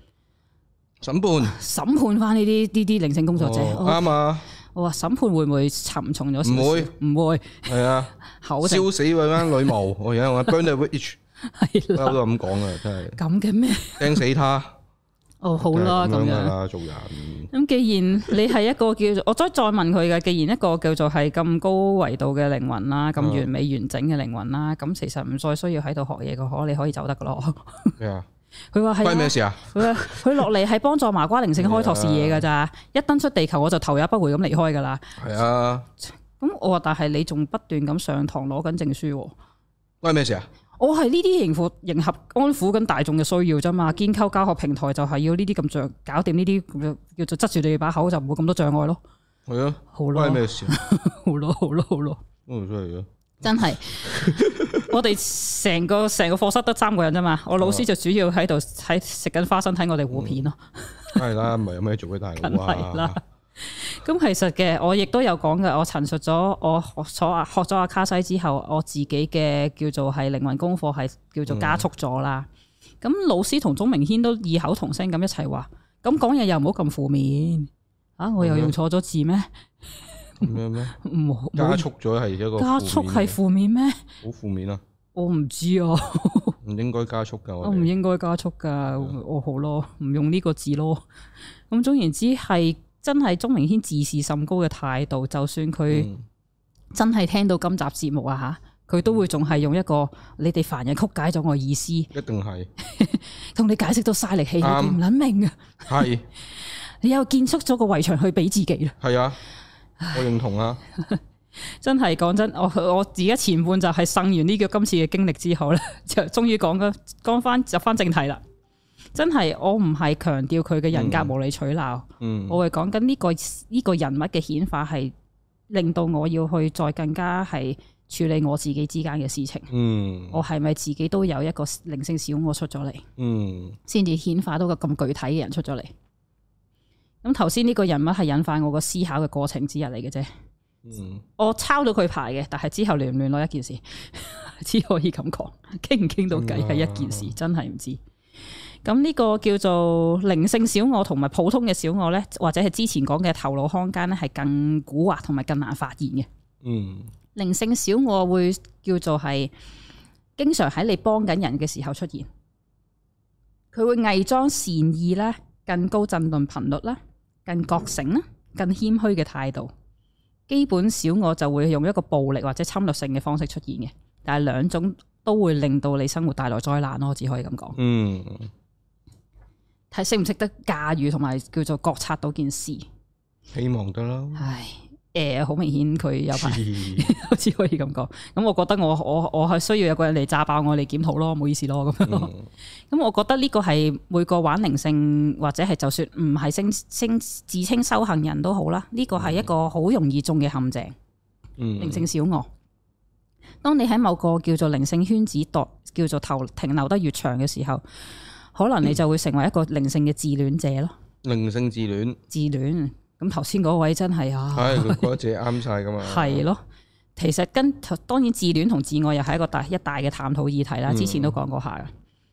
判翻呢啲靈性工作者啱啊！我話審判會唔會沉重咗少少？唔會，係啊，燒死嗰班女巫，我而家我 burn the witch， 係啦，都咁講啊，真係咁嘅咩？釘死他！哦，好啦，咁樣做人。咁既然你係一個叫做，我再問佢嘅，既然一個叫做係咁高維度嘅靈魂啦，咁完美完整嘅靈魂啦，咁其實唔再需要喺度學嘢嘅，你可以走得噶咯。係啊。佢話係關咩事啊？佢落嚟係幫助麻瓜靈性開拓視野噶咋，一登出地球我就頭也不回咁離開噶啦。係啊，咁我話但係你仲不斷咁上堂攞緊證書，關咩事啊？我係呢啲迎合安撫緊大眾嘅需要啫嘛，建構教學平台就係要呢啲咁搞掂呢啲叫做執住你把口就唔會咁多障礙咯。係啊，好咯，關咩事啊？好咯，真係真係，我哋成個課室得3個人啫嘛，我老師就主要喺度食緊花生睇我哋互片咯。係啦，唔係有咩做嘅大佬啊？係啦。咁其實嘅，我亦都有講嘅，我陳述咗我學咗阿卡西之後，我自己嘅叫做係靈魂功課係叫做加速咗啦。咁老師同鍾明軒都異口同聲咁一齊話，咁講嘢又唔好咁負面啊！我又用錯咗字咩？咩？加速咗係一個加速係負面咩？好負面啊！我唔知啊，唔應該加速噶，我唔應該加速噶，我好咯，唔用呢個字咯。咁總言之係真係鍾明軒自視甚高嘅態度，就算佢真係聽到今集節目啊吓，佢都會仲係用一個你哋凡人曲解咗我意思，一定係同你解釋到嘥力氣，你唔捻明啊？係你又建築咗個圍牆去俾自己啦？係啊。我認同啊！真係講真，我自己前半就係生完呢個今次嘅經歷之後咧，就終於講翻入翻正題啦。真係我唔係強調佢嘅人格無理取鬧，我係講緊呢個人物嘅顯化係令到我要去再更加係處理我自己之間嘅事情。我係咪自己都有一個靈性小我出咗嚟？先至顯化到個咁具體嘅人出咗嚟。咁頭先呢個人物係引發我個思考嘅過程之一嚟嘅啫。我抄到佢牌嘅，但係之後聯唔聯絡一件事，只可以咁講，傾唔傾到偈係一件事，真係唔知。咁呢個叫做靈性小我同埋普通嘅小我咧，或者係之前講嘅頭腦空間咧，係更蠱惑同埋更難發現嘅。靈性小我會叫做係經常喺你幫緊人嘅時候出現，佢會偽裝善意啦，更高振動頻率啦，更覺醒啦，更謙虛嘅態度。基本小我就會用一個暴力或者侵略性嘅方式出現嘅，但係兩種都會令到你生活帶來災難咯，只可以咁講。睇識唔識得駕馭同埋叫做覺察到件事，希望得啦。唉，好明顯佢有排，只可以咁講。咁我覺得我係需要有個人嚟炸爆我嚟檢討咯，冇意思咯咁樣。咁我覺得呢個係每個玩靈性或者係就算唔係自稱修行人都好啦，呢個係一個好容易中嘅陷阱。靈性小我，當你喺某個叫做靈性圈子叫做停留得越長嘅時候，可能你就會成為一個靈性嘅自戀者咯。靈性自戀。咁頭先嗰位真係啊，係佢覺得自己啱晒噶嘛？係咯，其實當然自戀同自愛又係一個大嘅探討議題啦。之前都講過下嘅。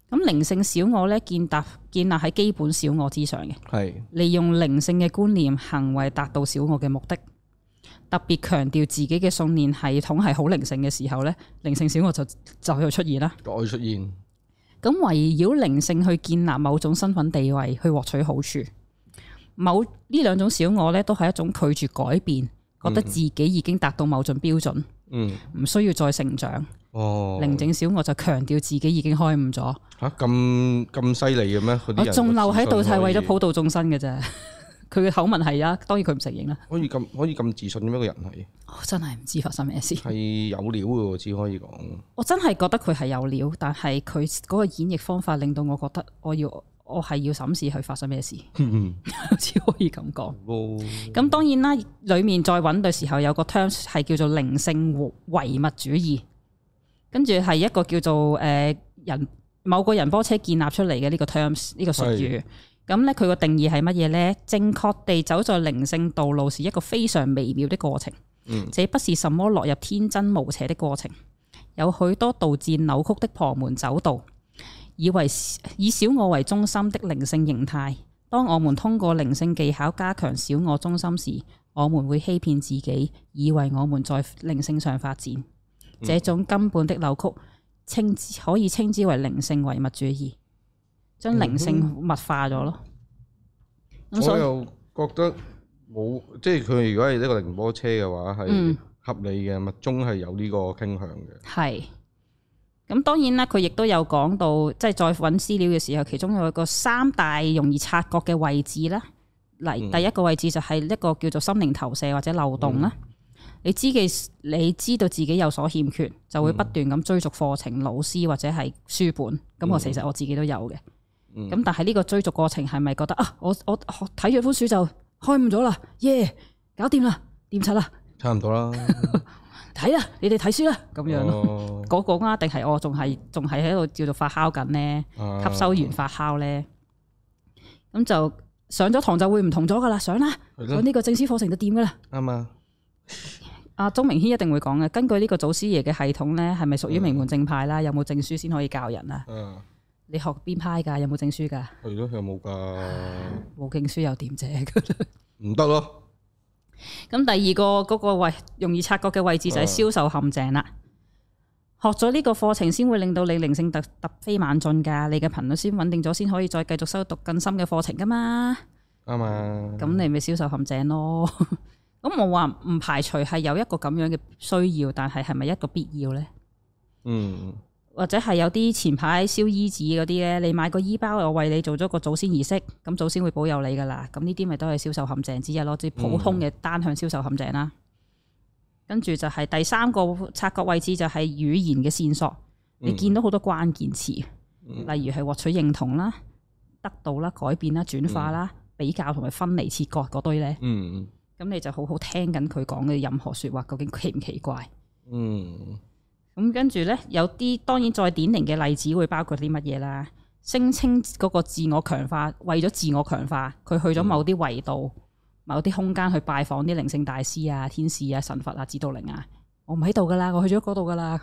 咁靈性小我咧建立喺基本小我之上嘅， 係利用靈性嘅觀念行為達到小我嘅目的。特別強調自己嘅信念系統係好靈性嘅時候咧，靈性小我就要出現啦。 再出現。 咁圍繞靈性去建立某種身份地位，去獲取好處。呢兩種小我咧，都係一種拒絕改變，覺得自己已經達到某種標準，唔需要再成長。寧靜小我就強調自己已經開悟咗。吓， 咁犀利嘅咩？ 我仲留喺度係為咗普度眾生嘅啫。佢嘅口吻係啊，當然佢唔承認啦。可以咁自信嘅咩？個人係？ 我真係唔知發生咩事。 係有料嘅，只可以講。 我真係覺得佢係有料，但係佢嗰個演繹方法令到我覺得我係要審視佢發生咩事。只可以咁講。咁當然啦，裏面再揾嘅時候有個 terms 係叫做靈性唯物主義，跟住係一個叫做某個仁波切建立出嚟嘅呢個 terms 呢個術語。咁咧，佢個定義係乜嘢咧？正確地走在靈性道路是一個非常微妙的過程，這不是什麼落入天真無邪的過程，有許多導致扭曲的旁門走道，以小我為中心的靈性形態。當我們通過靈性技巧加強小我中心時，我們會欺騙自己，以為我們在靈性上發展。這種根本的扭曲，可以稱之為靈性唯物主義。將靈性物化咗咯， 我又覺得冇，即係佢如果係呢個寧波車嘅話，係合理嘅，密宗係有呢個傾向嘅。係， 咁當然啦，佢亦都有講到，即係再揾資料嘅時候，其中有一個3大容易察覺嘅位置啦。嚟，第一個位置就係一個叫做心靈投射或者漏洞啦。你知道自己有所欠缺，就會不斷咁追逐課程、老師或者係書本。咁其實我自己都有嘅。咁但係呢個追逐過程係咪覺得啊？我睇咗本書就開悟咗啦，耶，搞掂啦，掂柒啦， 差唔多啦。 睇啦，你哋睇書啦，咁樣咯。嗰個啊，定係我仲係喺度叫做發酵緊咧，吸收完發酵咧，咁就上咗堂就會唔同咗噶啦，上啦，上呢個證書課程就掂噶啦。啱啊。阿鍾明軒一定會講嘅，根據呢個祖師爺嘅系統咧，係咪屬於名門正派啦？有冇證書先可以教人啊？你學邊派噶？有冇證書噶？ 係咯，有冇噶？ 冇證書又點啫？唔得咯。 咁第二個嗰個位容易察覺嘅位置就係銷售陷阱啦。學咗呢個課程先會令到你靈性突飛猛進噶，你嘅頻率先穩定咗，先可以再繼續修讀更深嘅課程噶嘛。啱啊。咁你咪銷售陷阱咯。咁我話唔排除係有一個咁樣嘅需要，但係咪一個必要咧？或者係有啲前排燒衣紙嗰啲咧，你買個衣包，我為你做咗個祖先儀式，咁祖先會保佑你噶啦。咁呢啲咪都係銷售陷阱之一咯，即係普通嘅單向銷售陷阱啦。跟住就係第3個察覺位置就係語言嘅線索，你見到好多關鍵詞，例如係獲取認同啦、得到啦、改變啦、轉化啦、比較同埋分離切割嗰堆咧。咁你就好好聽緊佢講嘅任何說話，究竟奇唔奇怪？咁跟住咧，有啲當然再典型嘅例子會包括啲乜嘢啦？聲稱嗰個自我強化，為咗自我強化，佢去咗某啲維度、某啲空間去拜訪啲靈性大師啊、天使啊、神佛啊、指導靈啊。我唔喺度噶啦，我去咗嗰度噶啦。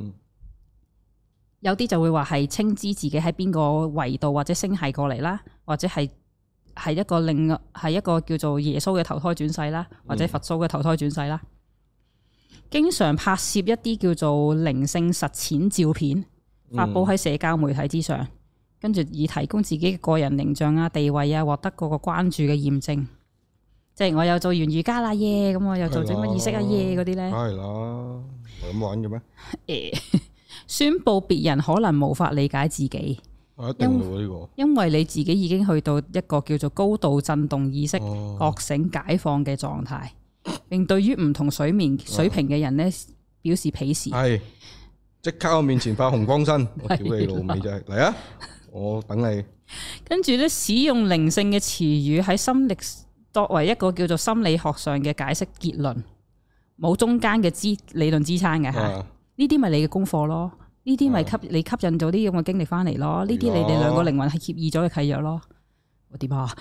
有啲就會話係稱知自己喺邊個維度或者星系過嚟啦，或者係一個叫做耶穌嘅投胎轉世啦，或者佛祖嘅投胎轉世啦。經常拍攝一啲叫做靈性實踐照片，發佈喺社交媒體之上，跟住以提供自己嘅個人形象啊、地位啊，獲得嗰個關注嘅驗證。即係我又做完瑜伽啦耶，咁我又做咗乜儀式啊耶嗰啲咧。梗係啦，係咁玩嘅咩？宣布別人可能無法理解自己， 一定會呢個， 因為你自己已經去到一個叫做高度震動意識、覺醒解放嘅狀態。並對於唔同水平嘅人咧表示鄙視，係即刻喺我面前發紅光身，我屌你老味真係嚟啊！我等你。 跟住咧，使用靈性嘅詞語喺心理作為一個叫做心理學上嘅解釋結論，冇中間嘅理論支撐嘅吓。呢啲咪你嘅功課咯，呢啲咪你吸引咗啲咁嘅經歷翻嚟咯，呢啲你哋兩個靈魂係協議咗嘅契約咯。我點啊？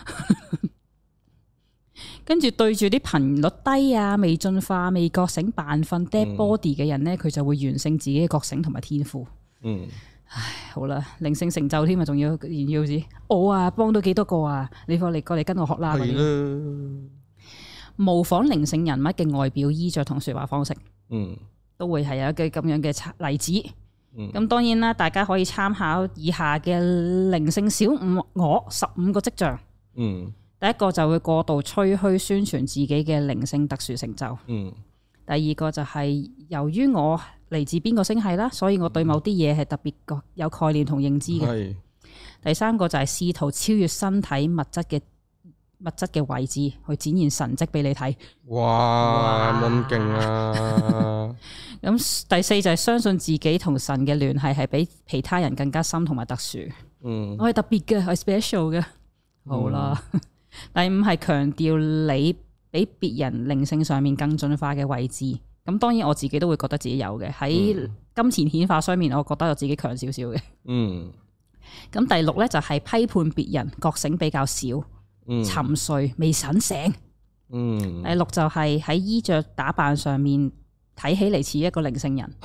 跟住對住啲頻率低啊、未進化、未覺醒、扮瞓 dead body 嘅人咧，佢就會完勝自己嘅覺醒同埋天賦。 唉，好啦，靈性成就添啊，仲要炫耀子，我啊幫到幾多個啊，你過嚟跟我學啦。係啦，模仿靈性人物嘅外表、衣着同說話方式，都會係有一個咁樣嘅例子。咁當然啦，大家可以參考以下嘅靈性小我15個跡象。第一個就會過度吹噓宣傳自己嘅靈性特殊成就。第二個就係由於我嚟自邊個星系啦，所以我對某啲嘢係特別有概念同認知嘅。第三個就係試圖超越身體物質嘅位置，去展現神蹟俾你睇。哇，咁勁啊！咁第四就係相信自己同神嘅聯繫係比其他人更加深同埋特殊。我係特別嘅，係 special 嘅。好啦，第五係強調你比別人靈性上面更進化嘅位置。咁當然我自己都會覺得自己有嘅，喺金錢顯化上面，我覺得我自己強少少嘅。咁第六咧就係批判別人，覺醒比較少，沉睡未醒。第六就係喺衣着打扮上面睇起嚟似一個靈性人。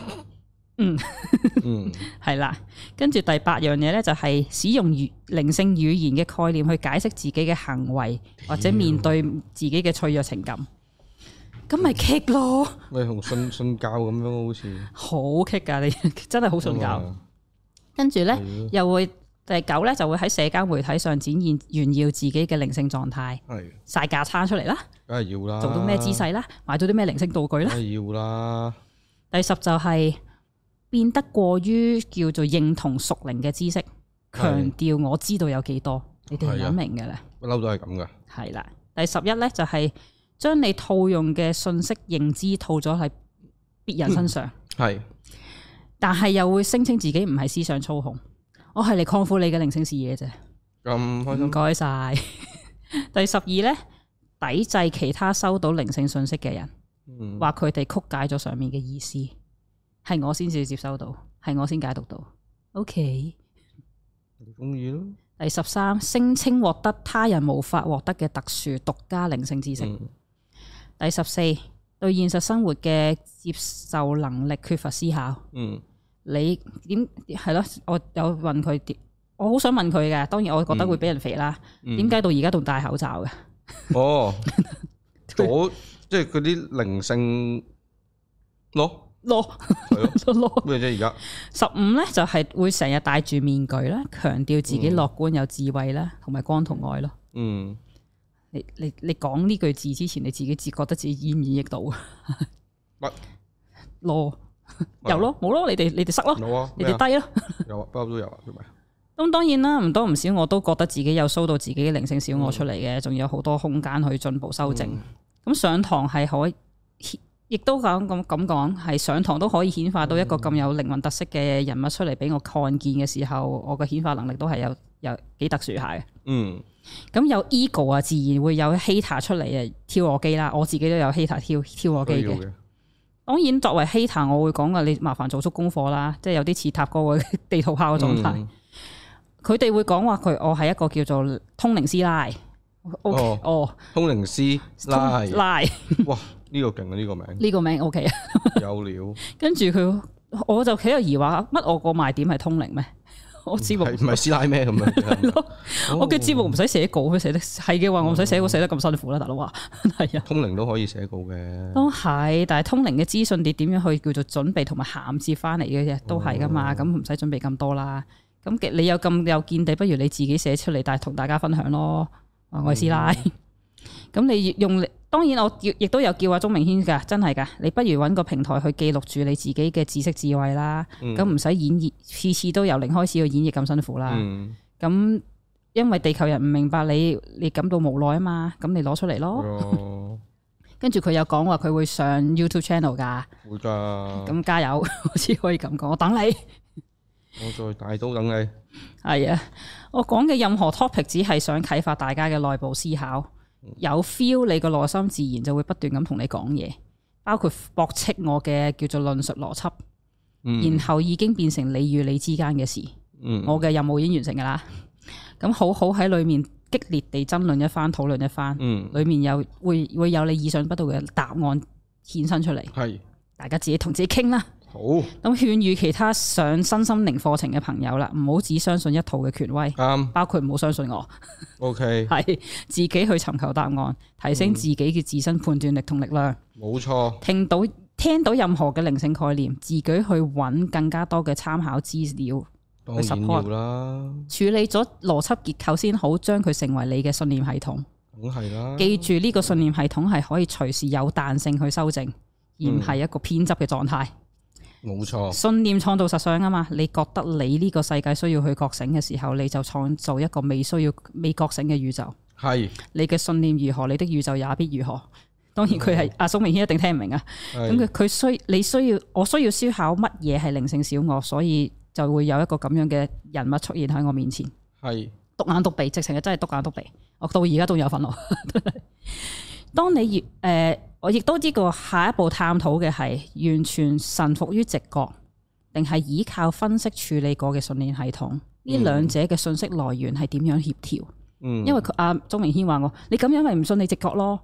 係啦。跟住第八樣嘢咧就係使用靈性語言嘅概念去解釋自己嘅行為，或者面對自己嘅脆弱情感。咁咪棘咯，咪同信教咁樣，好似好棘噶，你真係好信教。跟住咧，又會第九咧就會喺社交媒體上展現炫耀自己嘅靈性狀態，晒架撐出嚟啦，梗係要啦，做到咩姿勢啦，買到啲咩靈性道具啦，梗係要啦。第十就係變得過於叫做認同屬靈嘅知識，強調我知道有幾多，你哋諗明嘅咧，不嬲都係咁噶。係啦，第11咧就係將你套用嘅信息認知套咗喺別人身上，但係又會聲稱自己唔係思想操控，我係嚟擴闊你嘅靈性視野啫。咁開心，唔該晒。第12咧，抵制其他收到靈性信息嘅人，話佢哋曲解咗上面嘅意思，係我先至接收到，係我先解讀到。OK， 你中意咯。第13，聲稱獲得他人無法獲得嘅特殊獨家靈性知識。第14，對現實生活嘅接受能力缺乏思考。你點係咯？我有問佢，我好想問佢嘅。當然我覺得會俾人肥啦。點解到而家仲戴口罩嘅？哦，即係嗰啲靈性咯，係咯，咩啫？而家15咧就係會成日戴住面具啦，強調自己樂觀有智慧啦，同埋光同愛咯。你講呢句字之前，你自己覺得自己演唔演繹到啊？乜咯？有咯，冇咯？你哋塞咯，你哋低咯，有啊，包都有啊，係咪？咁當然啦，唔多唔少，我都覺得自己有show到自己嘅靈性小我出嚟嘅，仲有好多空間去進步修正。咁上堂係可以，亦都咁講，係上堂都可以顯化到一個咁有靈魂特色嘅人物出嚟俾我看見嘅時候，我嘅顯化能力都係有幾特殊下嘅。咁有 ego 啊，自然會有 hater 出嚟啊，挑我機啦。我自己都有 hater 挑我機嘅。當然作為 hater，我會講噶，你麻煩做足功課啦，即係有啲似塔哥嘅地圖炮嘅狀態。佢哋會講話我係一個叫做通靈師奶。通靈師奶，哇，呢個勁啊，呢個名，呢個名 OK 啊，有料。跟住佢，我就企喺度疑惑，乜我個賣點係通靈咩？我節目唔係師奶咩咁樣？係咯，我嘅節目唔使寫稿，佢寫得係嘅話，我唔使寫稿寫得咁辛苦啦，大佬話係啊。通靈都可以寫稿嘅，都係，但係通靈嘅資訊你點樣去叫做準備同埋銜接翻嚟嘅啫，都係噶嘛，咁唔使準備咁多啦。咁你有咁有見地，不如你自己寫出嚟，但係同大家分享咯。我係師奶，咁你用，當然我亦都有叫阿鍾明軒噶，真係噶，你不如揾個平台去記錄住你自己嘅知識智慧啦，咁唔使演繹，次次都由零開始去演繹咁辛苦啦。咁因為地球人唔明白你感到無奈啊嘛，咁你攞出嚟咯。跟住佢有講話佢會上 YouTube channel 噶，會噶，咁加油，我只可以咁講，我等你。我再大刀等你。係啊，我講嘅任何 topic 只係想啟發大家嘅內部思考，有 feel 你個內心自然就會不斷咁同你講嘢，包括駁斥我嘅叫做論述邏輯，然後已經變成你與你之間嘅事。我嘅任務已經完成噶啦，咁好好喺裏面激烈地爭論一番，討論一番，裏面會有你意想不到嘅答案衍生出嚟。係，大家自己同自己傾啦。好， 好。 咁勸喻其他上身心靈課程嘅朋友啦，唔好只相信一套嘅權威，包括唔好相信我。 OK， 係自己去尋求答案，提升自己嘅自身判斷力同力量。 冇錯。 聽到任何嘅靈性概念，自己去揾更加多嘅參考資料去 support 啦。處理咗邏輯結構先好，將佢成為你嘅信念系統。 梗係啦。記住呢個信念系統係可以隨時有彈性去修正，而唔係一個偏執嘅狀態。 冇錯。信念創造實相啊嘛，你覺得你呢個世界需要去覺醒嘅時候，你就創造一個未覺醒嘅宇宙。係。你嘅信念如何，你的宇宙也必如何。當然佢係阿蘇明軒一定聽唔明啊。咁我需要思考乜嘢係靈性小我，所以就會有一個咁樣嘅人物出現喺我面前。係。篤眼篤鼻，直情係真係篤眼篤鼻。我到而家都有憤怒。當你我亦都知個下一步探討嘅係完全臣服於直覺，定係依靠分析處理過嘅信念系統？呢兩者嘅信息來源係點樣協調？因為阿鍾明軒話我，你咁樣咪唔信你直覺咯？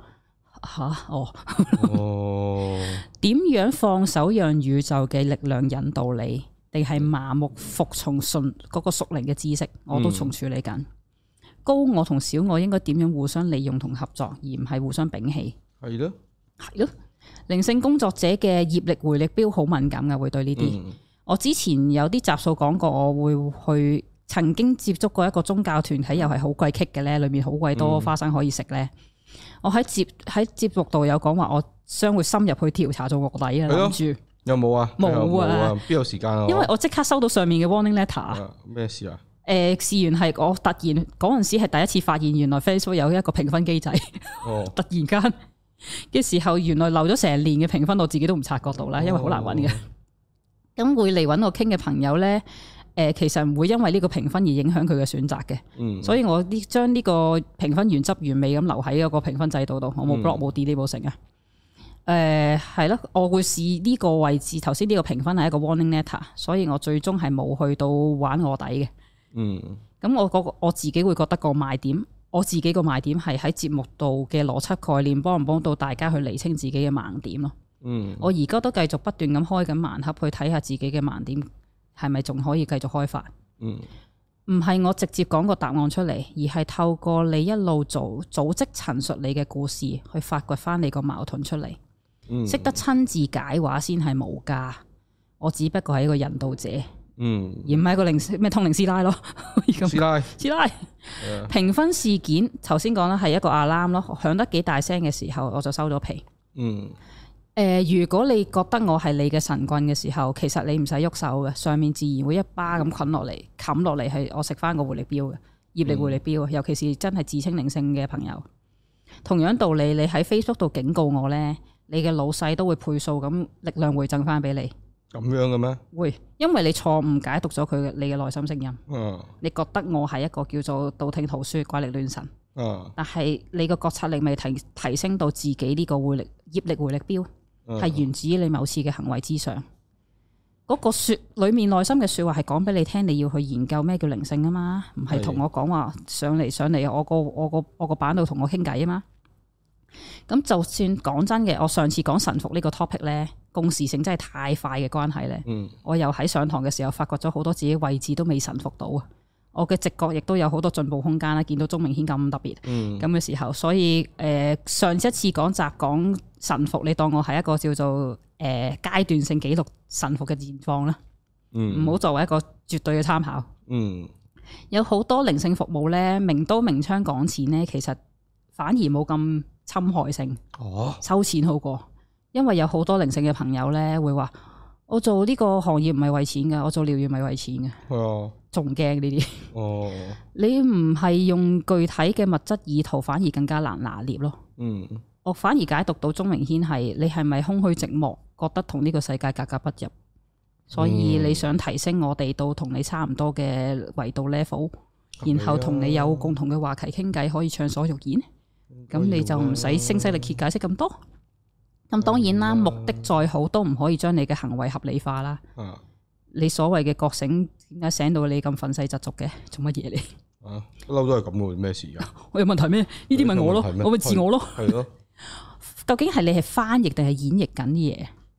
點樣放手讓宇宙嘅力量引導你，定係麻木服從嗰個屬靈嘅知識？我都仲處理緊。高我同小我應該點樣互相利用同合作，而唔係互相摒棄？係咯，係咯。靈性工作者嘅業力回力標好敏感噶，會對呢啲。我之前有啲集數講過，我會去曾經接觸過一個宗教團體，又係好鬼棘嘅咧，裏面好鬼多花生可以食咧。我喺節目度有講話，我將會深入去調查做臥底啊，諗住有冇啊？ 冇啊， 邊有時間啊？ 因為我即刻收到上面嘅 warning letter。 咩事啊？ 事源係我突然嗰陣時係第一次發現，原來 Facebook 有一個評分機制。突然間嘅時候，原來漏咗成年嘅評分，我自己都唔察覺到啦，因為好難揾嘅。咁會嚟揾我傾嘅朋友咧，其實唔會因為呢個評分而影響佢嘅選擇嘅。所以我將呢個評分原汁原味咁留喺嗰個評分制度度，我冇 block 冇 delete 冇成啊。係咯，我會試呢個位置。頭先呢個評分係一個 warning letter，所以我最終係冇去到玩臥底嘅。咁我自己會覺得個賣點，我自己個賣點係喺節目度嘅邏輯概念，幫唔幫到大家去釐清自己嘅盲點咯。我而家都繼續不斷咁開緊盲盒去睇下自己嘅盲點係咪仲可以繼續開發。唔係我直接講個答案出嚟，而係透過你一路組織陳述你嘅故事，去發掘翻你個矛盾出嚟。識得親自解話先係無價，我只不過係一個引導者。而唔係一個咩通靈師奶咯，師奶評分事件，頭先講啦，係一個 alarm 咯，響得幾大聲嘅時候，我就收咗皮。如果你覺得我係你嘅神棍嘅時候，其實你唔使喐手嘅，上面自然會一巴咁冚落嚟，係我食翻個回力標嘅業力回力標，尤其是真係自稱靈性嘅朋友。同樣道理，你喺 Facebook 度警告我呢，你嘅老細都會倍數咁力量回贈翻俾你。 咁樣嘅咩？會， 因為你錯誤解讀咗你嘅內心聲音。你覺得我係一個叫做道聽途說、怪力亂神。但係你個覺察力未提升到自己呢個業力回力標，係源自於你某次嘅行為之上。嗰個裏面內心嘅說話係講俾你聽，你要去研究咩叫靈性啊嘛，唔係同我講話上嚟我個版度同我傾偈啊嘛。咁就算講真嘅，我上次講臣服呢個 topic 咧，共時性真係太快嘅關係咧。我又喺上堂嘅時候發覺咗好多自己位置都未臣服到啊！我嘅直覺亦都有好多進步空間啦。見到鍾明軒咁特別咁嘅時候，所以上一次講臣服，你當我係一個叫做階段性記錄臣服嘅現況啦。唔好作為一個絕對嘅參考。有好多靈性服務咧，明刀明槍講錢咧，其實反而冇咁侵害性，收錢好過，因為有好多靈性嘅朋友咧會話，我做呢個行業唔係為錢噶，我做療愈唔係為錢嘅，仲驚呢啲。你唔係用具體嘅物質意圖，反而更加難拿捏咯。我反而解讀到鍾明軒係你係咪空虛寂寞，覺得同呢個世界格格不入，所以你想提升我哋到同你差唔多嘅維度 level，然後同你有共同嘅話題傾偈，可以暢所欲言。咁你就唔使聲嘶力竭解釋咁多。咁當然啦，目的再好都唔可以將你嘅行為合理化啦。你所謂嘅覺醒，點解醒到你咁憤世嫉俗嘅？做乜嘢嚟？ 不嬲都係咁嘅，咩事啊？ 我有問題咩？呢啲問我咯，我咪自我咯。 係咯。 究竟係你係翻譯定係演繹緊啲嘢？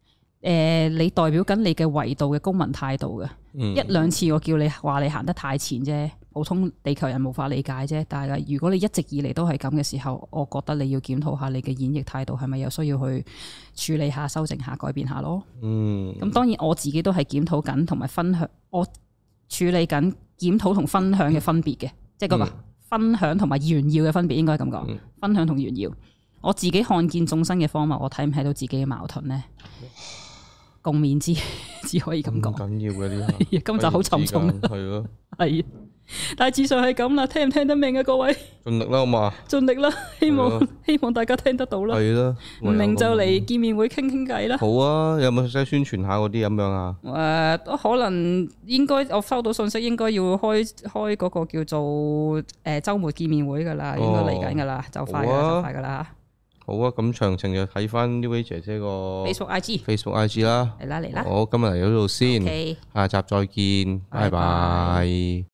你代表緊你嘅維度嘅公民態度嘅。一兩次我叫你話你行得太前啫，普通地球人無法理解啫。但係如果你一直以嚟都係咁嘅時候，我覺得你要檢討下你嘅演繹態度係咪有需要去處理下、修正下、改變下咯。咁當然我自己都係檢討緊同埋分享，我處理緊檢討同分享嘅分別嘅，即係嗰個分享同埋炫耀嘅分別，應該咁講。分享同炫耀，我自己看見眾生嘅荒謬，我睇唔睇到自己嘅矛盾呢？共勉之，只可以咁講。緊要嘅呢啲，今集好沉重。係咯，係。大致上係咁啦，聽唔聽得明啊？各位，盡力啦，好嘛？盡力啦，希望大家聽得到啦。係啦，唔明就嚟見面會傾傾偈啦。好啊，有冇使宣傳下嗰啲咁樣啊？可能應該我收到信息，應該要開嗰個叫做週末見面會噶啦，應該嚟緊噶啦，就快噶啦。好啊，咁詳情就睇翻 Neway 姐姐個 Facebook IG 啦。嚟啦。好，今日嚟到呢度先，下集再見，拜拜。